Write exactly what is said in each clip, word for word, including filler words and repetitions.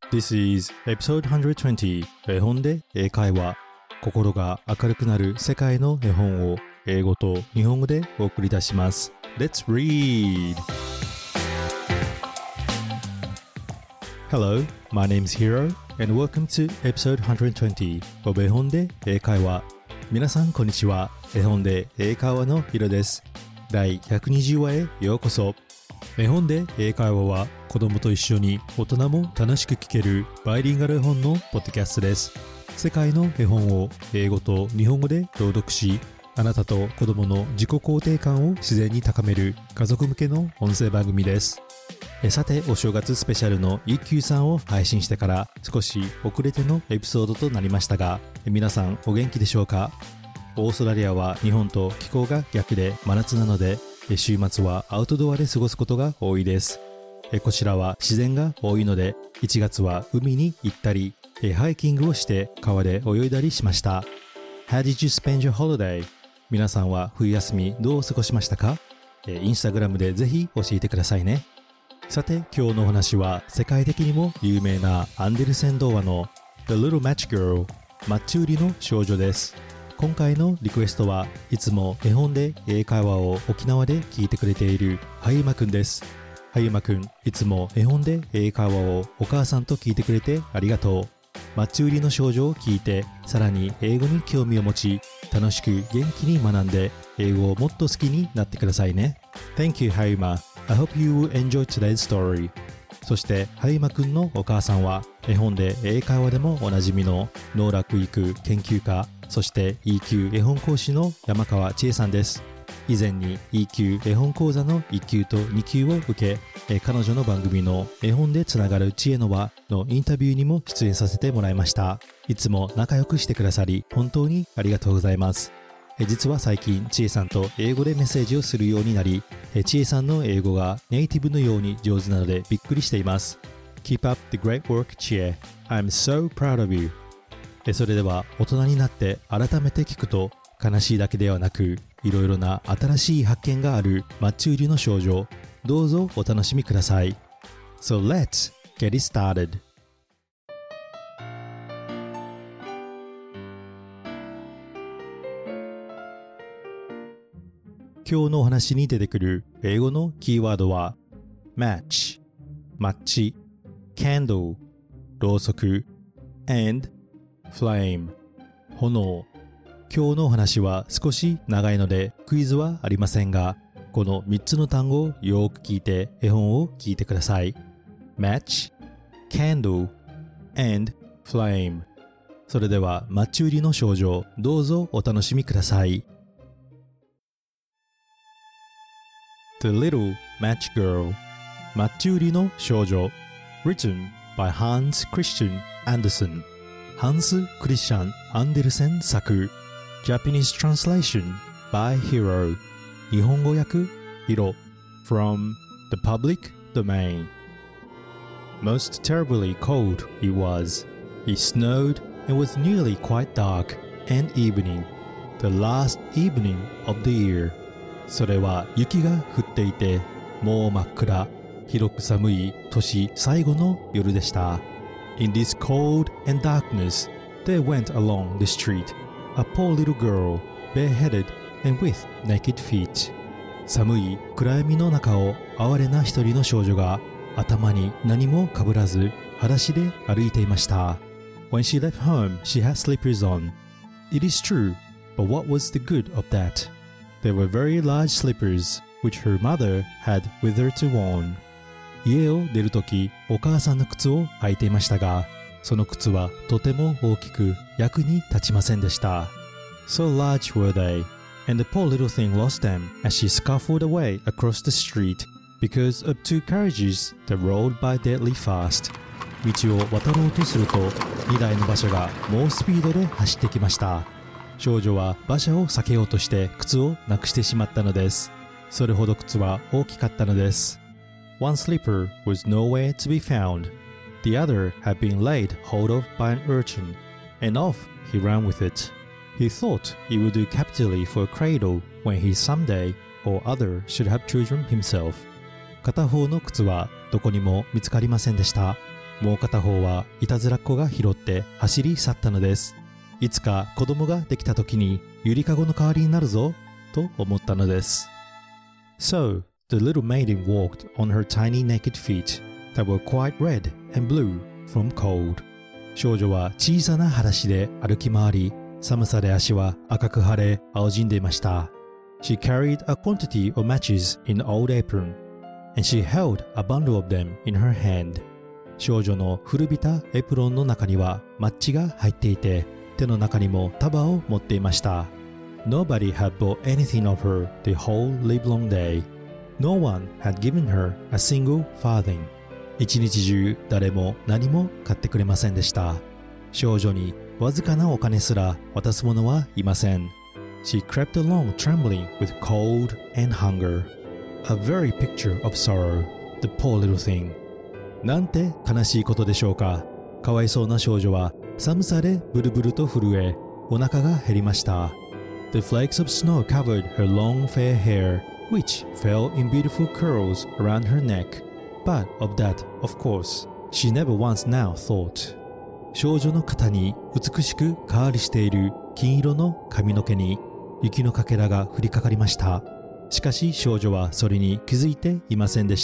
This is episode ひゃくにじゅう 絵本で英会話。心が明るくなる世界の絵本を英語と日本語でお送りいたします。Let's read! Hello, my name is Hiro and welcome to episode ひゃくにじゅう of 絵本で英会話。皆さんこんにちは。絵本で英会話のヒロです。第ひゃくにじゅう話へようこそ。絵本で英会話は子供と一緒に大人も楽しく聞けるバイリンガル絵本のポッドキャストです。世界の絵本を英語と日本語で朗読し、あなたと子供の自己肯定感を自然に高める家族向けの音声番組です。えさて、お正月スペシャルの一休さんを配信してから少し遅れてのエピソードとなりましたが、皆さんお元気でしょうか？オーストラリアは日本と気候が逆で真夏なので、週末はアウトドアで過ごすことが多いです。こちらは自然が多いので、いちがつは海に行ったり、ハイキングをして川で泳いだりしました。How did you spend your holiday? 皆さんは冬休みどう過ごしましたか？インスタグラムでぜひ教えてくださいね。さて、今日のお話は世界的にも有名なアンデルセン童話の The Little Match Girl マッチ売りの少女です。今回のリクエストはいつも絵本で英会話を沖縄で聞いてくれているはゆまくんです。はゆまくん、いつも絵本で英会話をお母さんと聞いてくれてありがとう。マッチ売りの少女を聞いて、さらに英語に興味を持ち、楽しく元気に学んで英語をもっと好きになってくださいね。Thank you, はゆま。I hope you will enjoy today's story. そしてはゆまくんのお母さんは絵本で英会話でもおなじみの能楽育研究家、そして イーキュー 絵本講師の山川千恵さんです。以前に イーキュー 絵本講座のいっ級とに級を受け、彼女の番組の絵本でつながる知恵の輪のインタビューにも出演させてもらいました。いつも仲良くしてくださり本当にありがとうございます。実は最近千恵さんと英語でメッセージをするようになり、千恵さんの英語がネイティブのように上手なのでびっくりしています。Keep up the great work, 千恵。I'm so proud of you。それでは大人になって改めて聞くと悲しいだけではなく、いろいろな新しい発見があるマッチ売りの少女。どうぞお楽しみください。So let's get it started. 今日のお話に出てくる英語のキーワードは match マッチ candle ろうそく and flame 炎。今日のお話は少し長いのでクイズはありませんが、このみっつの単語をよく聞いて絵本を聞いてください。 match, candle, and flame。 それではマッチ売りの少女、どうぞお楽しみください。 The Little Match Girl マッチ売りの少女 Written by Hans Christian Andersen。 ハンス・クリスチャン・アンデルセン作。 Japanese translation by Hiro。 日本語訳ヒロ。 From the public domain。 Most terribly cold it was. It snowed and was nearly quite dark and evening, the last evening of the year。 それは雪が降っていてもう真っ暗、広く寒い年最後の夜でした。 In this cold and darkness there went along the street a poor little girl, bareheaded and with naked feet。 寒い暗闇の中を哀れな一人の少女が頭に何もかぶらず裸足で歩いていました。 When she left home, she had slippers on. It is true, but what was the good of that? They were very large slippers, which her mother had with her to warn。 家を出るとき、お母さんの靴を履いていましたが、その靴はとても大きく役に立ちませんでした。 So large were they, and the poor little thing lost them as she scuffled away across the street because of two carriages that rolled by deadly fast。 道を渡ろうとするとにだいの馬車が猛スピードで走ってきました。少女は馬車を避けようとして靴をなくしてしまったのです。それほど靴は大きかったのです。 One slipper was nowhere to be found. The other had been laid hold of by an urchin, and off he ran with it. He thought it would do capitally for a cradle when he someday or other should have children himself. 片方の靴はどこにも見つかりませんでした。 もう片方はいたずらっ子が拾って走り去ったのです。いつか子供ができた時にゆりかごの代わりになるぞと思ったのです。So, the little maiden walked on her tiny naked feet that were quite red and blue from cold. 少女は小さな裸足で歩き回り、寒さで足は赤く腫れ、青じんでいました。She carried a quantity of matches in an old apron, and she held a bundle of them in her hand. 少女の古びたエプロンの中にはマッチが入っていて、手の中にも束を持っていました。Nobody had bought anything of her the whole livelong day. No one had given her a single farthing. 一日中誰も何も買ってくれませんでした。少女にわずかなお金すら渡す者はいません。She crept along trembling with cold and hunger. A very picture of sorrow, the poor little thing. なんて悲しいことでしょうか。かわいそうな少女は寒さでブルブルと震え、お腹が減りました。The flakes of snow covered her long fair hair, which fell in beautiful curls around her neck. But of that, of course, she never once now thought. 少女の肩に美しくカールしている金色の髪の毛に雪のかけらが降りかかりました。しかし少女はそれに気づいていませんでした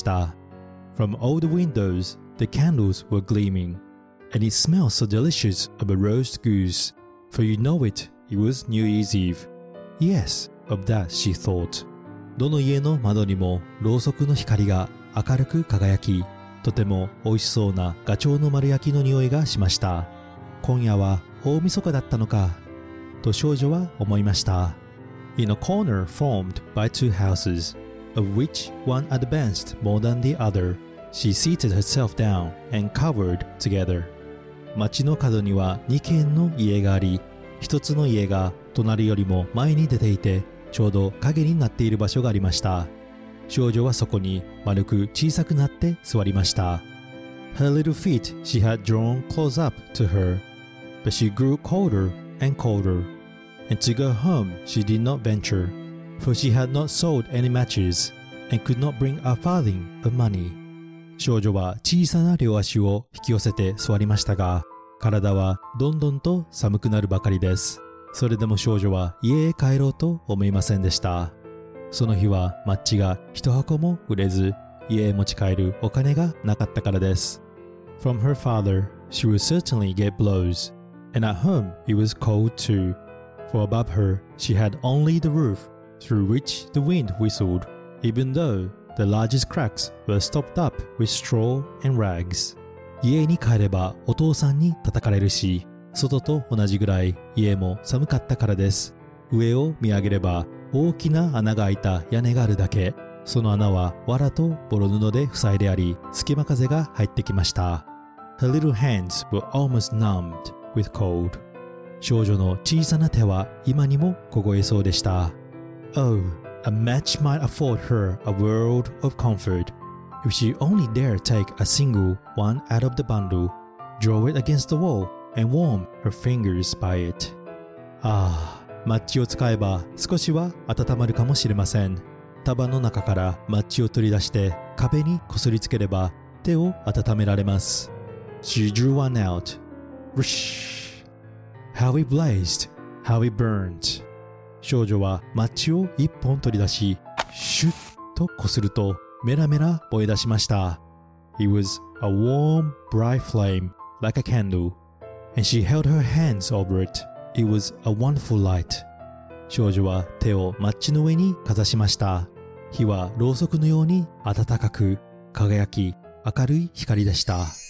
。From all the windows, the candles were gleaming, and it smelled so delicious of a roast goose. For you know it, it was New Year's Eve. Yes, of that she thought. どの家の窓にもろうそくの光が明るく輝き、とても美味しそうなガチョウの丸焼きの匂いがしました。今夜は大晦日だったのか、と少女は思いました。In a corner formed by two houses, of which one advanced more than the other, she seated herself down and cowered together. 町の角には二軒の家があり、一つの家が隣よりも前に出ていて、ちょうど影になっている場所がありました。少女はそこに丸く小さくなって座りました。Her little feet she had drawn close up to her, but she grew colder and colder, and to go home she did not venture, for she had not sold any matches, and could not bring a farthing of money. 少女は小さな両足を引き寄せて座りましたが、体はどんどんと寒くなるばかりです。それでも少女は家へ帰ろうと思いませんでした。その日はマッチが一箱も売れず、家へ持ち帰るお金がなかったからです。From her father, she would certainly get blows, and at home it was cold too, for above her she had only the roof through which the wind whistled, even though the largest cracks were stopped up with straw and rags. 家に帰ればお父さんに叩かれるし、外と同じぐらい家も寒かったからです。上を見上げれば大きな穴が開いた屋根があるだけ。その穴は藁とボロ布で塞いであり、隙間風が入ってきました。Her little hands were almost numbed with cold. 少女の小さな手は今にも凍えそうでした。Oh, a match might afford her a world of comfort. If she only dare take a single one out of the bundle, draw it against the wall, and warm her fingers by it. ああ、マッチを使えば少しは温まるかもしれません。束の中からマッチを取り出して壁にこすりつければ手を温められます。She drew one out. Whoosh! How it blazed! How it burned! 少女はマッチを一本取り出し、シュッとこするとメラメラ燃え出しました。It was a warm, bright flame, like a candle, and she held her hands over it. It was a wonderful light. 少女は手をマッチの上にかざしました。火はろうそくのように暖かく輝き明るい光でした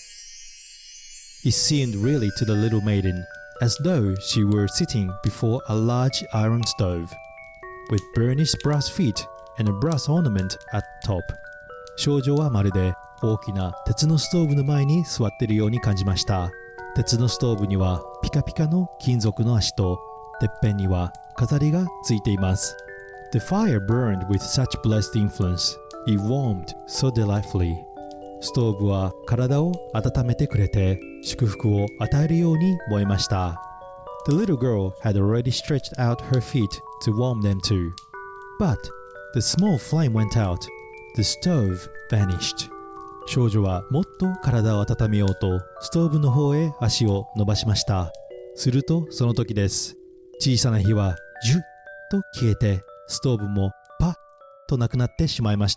。It seemed really to the little maiden as though she were sitting before a large iron stove, with burnished brass feet and a brass ornament at the top. 少女はまるで大きな鉄のストーブの前に座っているように感じました。鉄のストーブにはピカピカの金属の足と、てっぺんには飾りがついています。The fire burned with such blessed influence. It warmed so delightfully. ストーブは体を温めてくれて祝福を与えるように燃えました。The little girl had already stretched out her feet to warm them too. But the small flame went out. The stove vanished. 少女はもっと体を温めようとストーブの方へ足を伸ばしました。するとその時です。小さな火はジュッと消えて、ストーブもパッとなくなってしまいました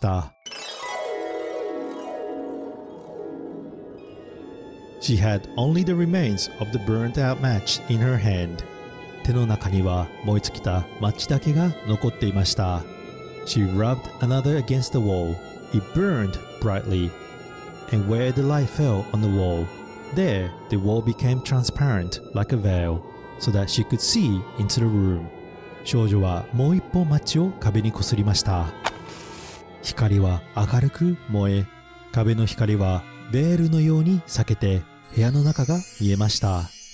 。She had only the remains of the burnt out match in her hand. 手の中には燃え尽きたマッチだけが残っていました。She rubbed another against the wall. It burned brightly. And where the light fell on the wall, there the wall became transparent like a veil, so that she could see into the room. 少女はもう一本マッチを壁にこすりました。光は明るく燃え、壁の光はベールのように裂けて部屋の中が見えました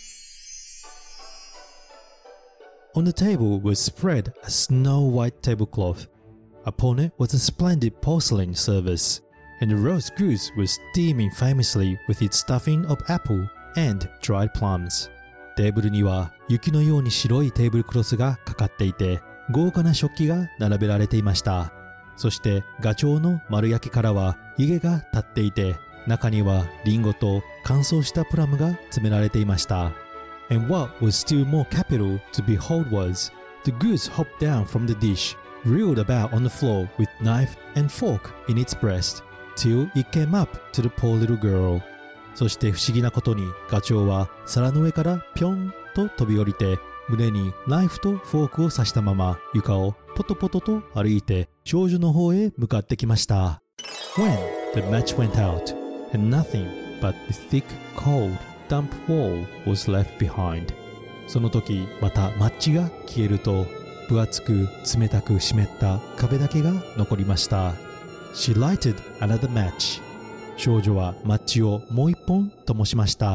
。On the table was spread a snow white tablecloth. Upon it was a splendid porcelain service, and the roast goose was steaming famously with its stuffing of apple and dried plums. テーブルには雪のように白いテーブルクロスがかかっていて、豪華な食器が並べられていました。そしてガチョウの丸焼きからは湯気が立っていて、中にはリンゴと乾燥したプラムが詰められていました。And what was still more capital to behold was, the goose hopped down from the dish, reeled about on the floor with knife and fork in its breast, till it came up to the poor little girl. そして不思議なことにガチョウは皿の上からぴょんと飛び降りて、胸にナイフとフォークを刺したまま床をポトポトと歩いて少女の方へ向かってきました。When the match went out, and nothing but the thick, cold, damp wall was left behind. その時またマッチが消えると、分厚く冷たく湿った壁だけが残りました。She lighted another match. 少女はマッチをもう一本灯しました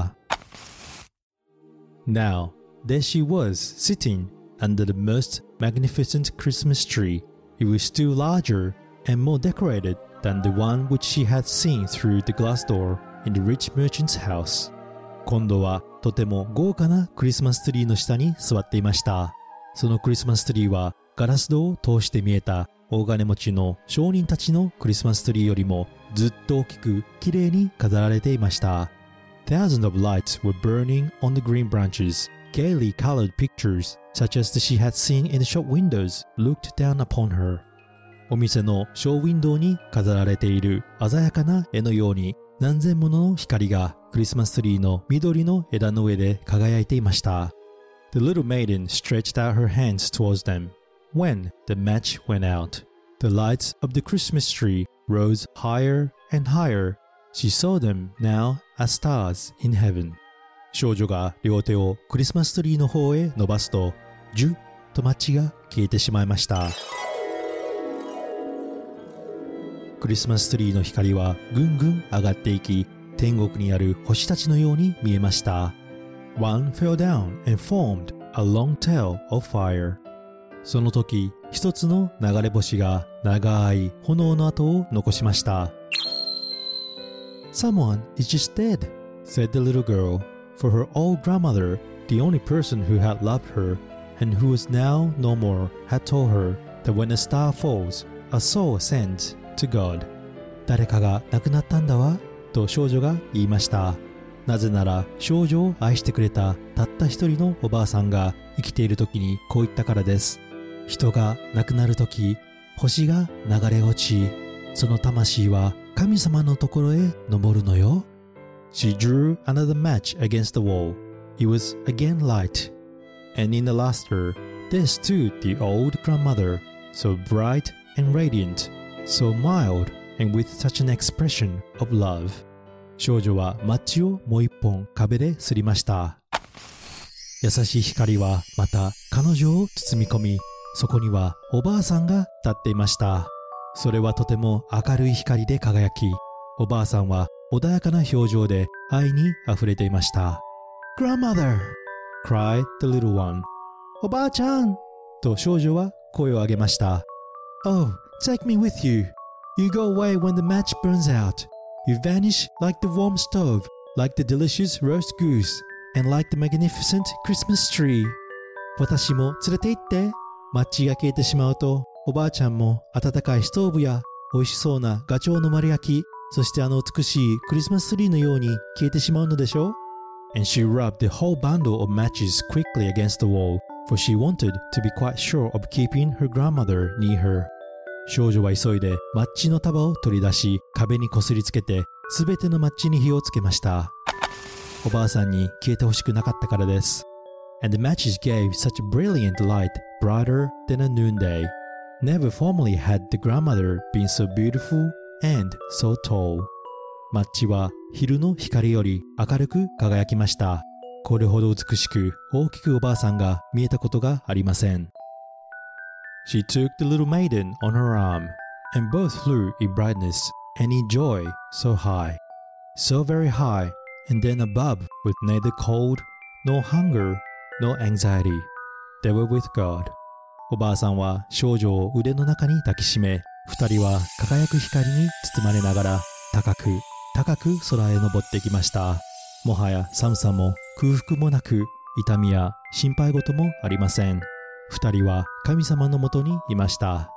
。Now, there she was sitting under the most magnificent Christmas tree. It was still larger and more decorated than the one which she had seen through the glass door in the rich merchant's house. 今度はとても豪華なクリスマスツリーの下に座っていました。そのクリスマスツリーはガラス戸を通して見えた大金持ちの商人たちのクリスマスツリーよりもずっと大きくきれいに飾られていました。Thousands of lights were burning on the green branches. Gaily colored pictures, such as the she had seen in the shop windows, looked down upon her. お店のショーウィンドウに飾られている鮮やかな絵のように、何千もの光がクリスマスツリーの緑の枝の上で輝いていました。The little maiden stretched out her hands towards them. When the match went out, the lights of the Christmas tree rose higher and higher. She saw them now as stars in heaven. 少女が両手をクリスマスツリーの方へ伸ばすと、ジュッとマッチが消えてしまいました。クリスマスツリーの光はぐんぐん上がっていき、天国にある星たちのように見えました。One fell down and formed a long tail of fire. その時、一つの流れ星が長い炎の跡を残しました。Someone is just dead, said the little girl, for her old grandmother, the only person who had loved her, and who was now no more, had told her that when a star falls, a soul ascends to God. 誰かが亡くなったんだわ、と少女が言いました。なぜなら少女を愛してくれたたった一人のおばあさんが生きている時にこう言ったからです。人が亡くなる時、星が流れ落ち、その魂は神様のところへ昇るのよ。She drew another match against the wall. It was again light. And in the luster, there stood the old grandmother, so bright and radiant, so mild and with such an expression of love. 少女はマッチをもう一本壁で擦りました。優しい光はまた彼女を包み込み、そこにはおばあさんが立っていました。それはとても明るい光で輝き、おばあさんは穏やかな表情で愛にあふれていました。Grandmother! cried the little one. おばあちゃん! と少女は声を上げました。Oh, take me with you. You go away when the match burns out. You vanish like the warm stove, like the delicious roast goose, and like the magnificent Christmas tree. 私も連れて行って。マッチが消えてしまうと、おばあちゃんも温かいストーブや美味しそうなガチョウの丸焼き、 そしてあの美しいクリスマスツリーのように消えてしまうのでしょう。 And she rubbed the whole bundle of matches quickly against the wall, for she wanted to be quite sure of keeping her grandmother near her. 少女は急いでマッチの束を取り出し、壁にこすりつけてすべてのマッチに火をつけました。おばあさんに消えてほしくなかったからです。And the matches gave such a brilliant light, brighter than a noonday. Never formerly had the grandmother been so beautiful and so tall. マッチは昼の光より明るく輝きました。これほど美しく大きくおばあさんが見えたことがありません。She took the little maiden on her arm, and both flew in brightness and in joy so high, so very high, and then above with neither cold, nor hunger, nor anxiety. They were with God. おばあさんは少女を腕の中に抱きしめ、二人は輝く光に包まれながら高く高く空へ登ってきました。もはや寒さも空腹もなく、痛みや心配事もありません。二人は神様のもとにいました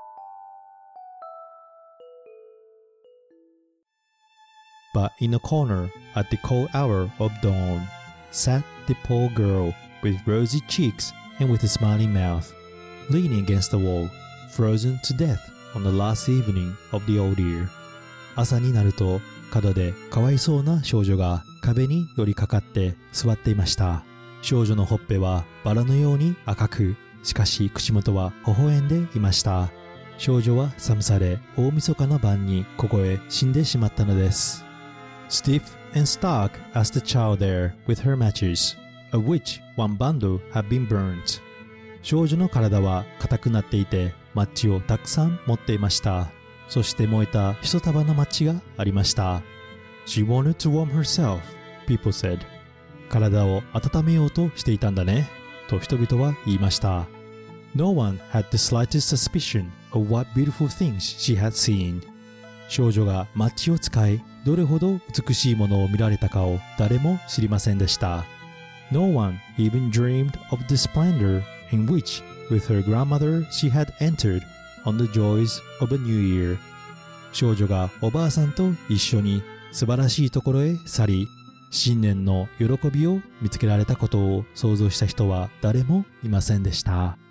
。But in a corner at the cold hour of dawn sat the poor girl with rosy cheeks and with a smiling mouth, leaning against the wall, frozen to death on the last evening of the old year. 朝になると角でかわいそうな少女が壁に寄りかかって座っていました。少女のほっぺはバラのように赤く、しかし口元は微笑んでいました。少女は寒さで大晦日の晩にここへ死んでしまったのです。Stiff and stark as the child there with her matches, of which one bundle had been burnt. 少女の体は硬くなっていて、マッチをたくさん持っていました。そして燃えた一束のマッチがありました。She wanted to warm herself, people said. 体を温めようとしていたんだね、と人々は言いました。No one had the slightest suspicion of what beautiful things she had seen. 少女がマッチを使い、どれほど美しいものを見られたかを誰も知りませんでした。No one even dreamed of the splendor in which, with her grandmother, she had entered on the joys of a new year. 少女がおばあさんと一緒に素晴らしいところへ去り、新年の喜びを見つけられたことを想像した人は誰もいませんでした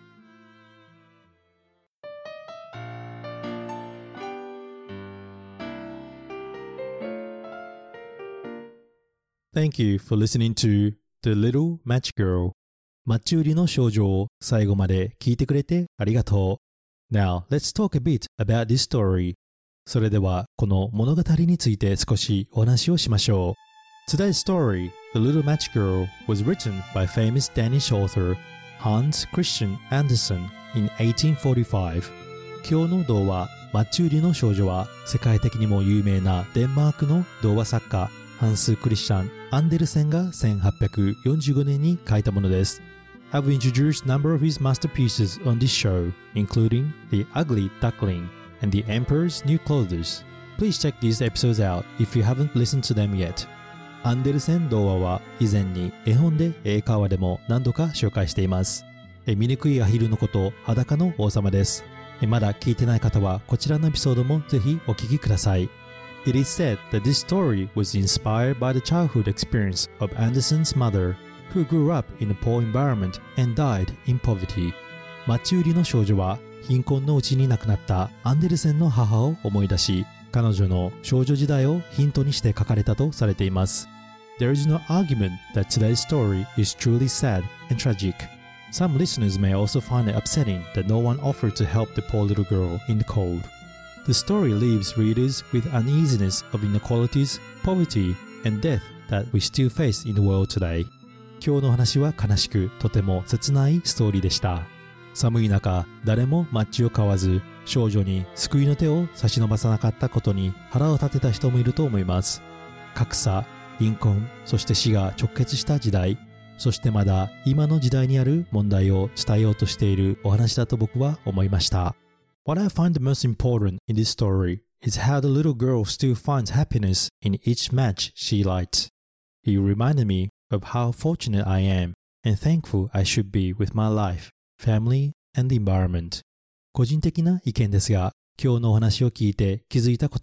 。Thank you for listening to The Little Match Girl. マッチ売りの少女を最後まで聞いてくれてありがとう。Now, let's talk a bit about this story. それではこの物語について少しお話をしましょう。Today's story, The Little Match Girl, was written by famous Danish author Hans Christian Andersen in eighteen forty-five. 今日の童話、マッチ売りの少女は世界的にも有名なデンマークの童話作家ハンス・クリスチャン・アンデルセンがせんはっぴゃくよんじゅうごねんに書いたものです。I've introduced a number of his masterpieces on this show, including The Ugly Duckling and The Emperor's New Clothes. Please check these episodes out if you haven't listened to them yet. アンデルセン童話は以前に絵本で英会話でも何度か紹介しています。醜いアヒルのこと裸の王様です。まだ聞いてない方はこちらのエピソードもぜひお聞きください。It is said that this story was inspired by the childhood experience of Andersen's mother, who grew up in a poor environment and died in poverty. マッチ売りの少女は貧困のうちに亡くなったアンデルセンの母を思い出し、彼女の少女時代をヒントにして書かれたとされています。There is no argument that today's story is truly sad and tragic. Some listeners may also find it upsetting that no one offered to help the poor little girl in the cold.The story leaves readers with uneasiness of inequalities, poverty, and death that we still face in the world today. 今日の話は悲しく、とても切ないストーリーでした。寒い中、誰もマッチを買わず、少女に救いの手を差し伸ばさなかったことに腹を立てた人もいると思います。格差、貧困、そして死が直結した時代、そしてまだ今の時代にある問題を伝えようとしているお話だと僕は思いました。What I find the most important in this story is how the little girl still finds happiness in each match she lights. It reminded me of how fortunate I am and thankful I should be with my life, family, and the environment. 個人的な意見ですが、今日のお話を聞いて気づいたことは、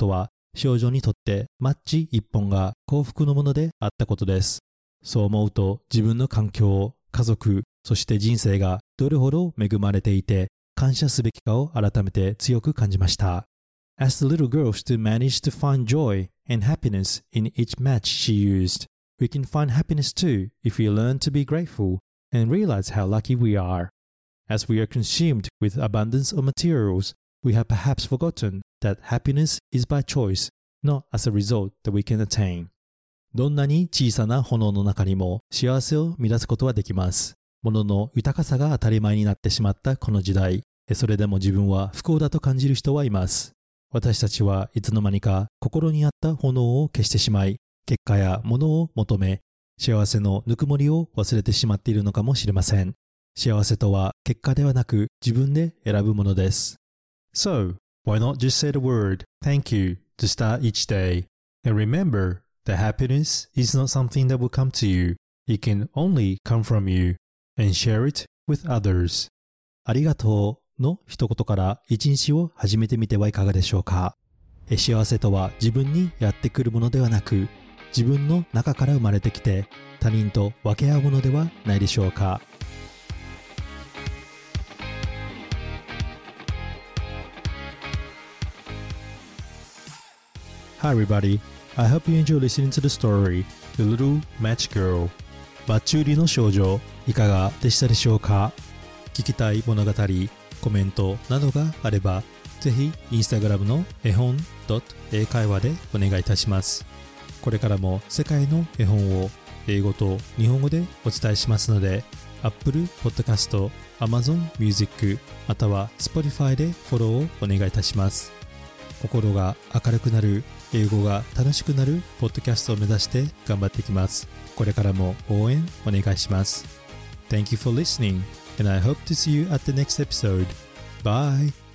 少女にとってマッチ一本が幸福のものであったことです。そう思うと自分の環境、家族、そして人生がどれほど恵まれていて感謝すべきかを改めて強く感じました。As the little girl still managed to find joy and happiness in each match she used, we can find happiness too if we learn to be grateful and realize how lucky we are. As we are consumed with abundance of materials, we have perhaps forgotten that happiness is by choice, not as a result that we can attain. どんなに小さな炎の中にも幸せを乱すことはできます。物の豊かさが当たり前になってしまったこの時代、それでも自分は不幸だと感じる人はいます。私たちはいつの間にか心にあった炎を消してしまい、結果や物を求め、幸せのぬくもりを忘れてしまっているのかもしれません。幸せとは結果ではなく自分で選ぶものです。So, why not just say the word thank you to start each day? And remember that happiness is not something that will come to you. It can only come from you. And share it with others. ありがとうの一言から一日を始めてみてはいかがでしょうか。幸せとは自分にやってくるものではなく、自分の中から生まれてきて他人と分け合うものではないでしょうか。Hi everybody, I hope you enjoy listening to the story, The Little Match Girl. マッチ売りの少女、いかがでしたでしょうか。聞きたい物語、コメントなどがあれば、ぜひインスタグラムの絵本英会話でお願いいたします。これからも世界の絵本を英語と日本語でお伝えしますので、Apple Podcast、Amazon Music または Spotify でフォローをお願いいたします。心が明るくなる、英語が楽しくなるポッドキャストを目指して頑張っていきます。これからも応援お願いします。Thank you for listening, and I hope to see you at the next episode. Bye!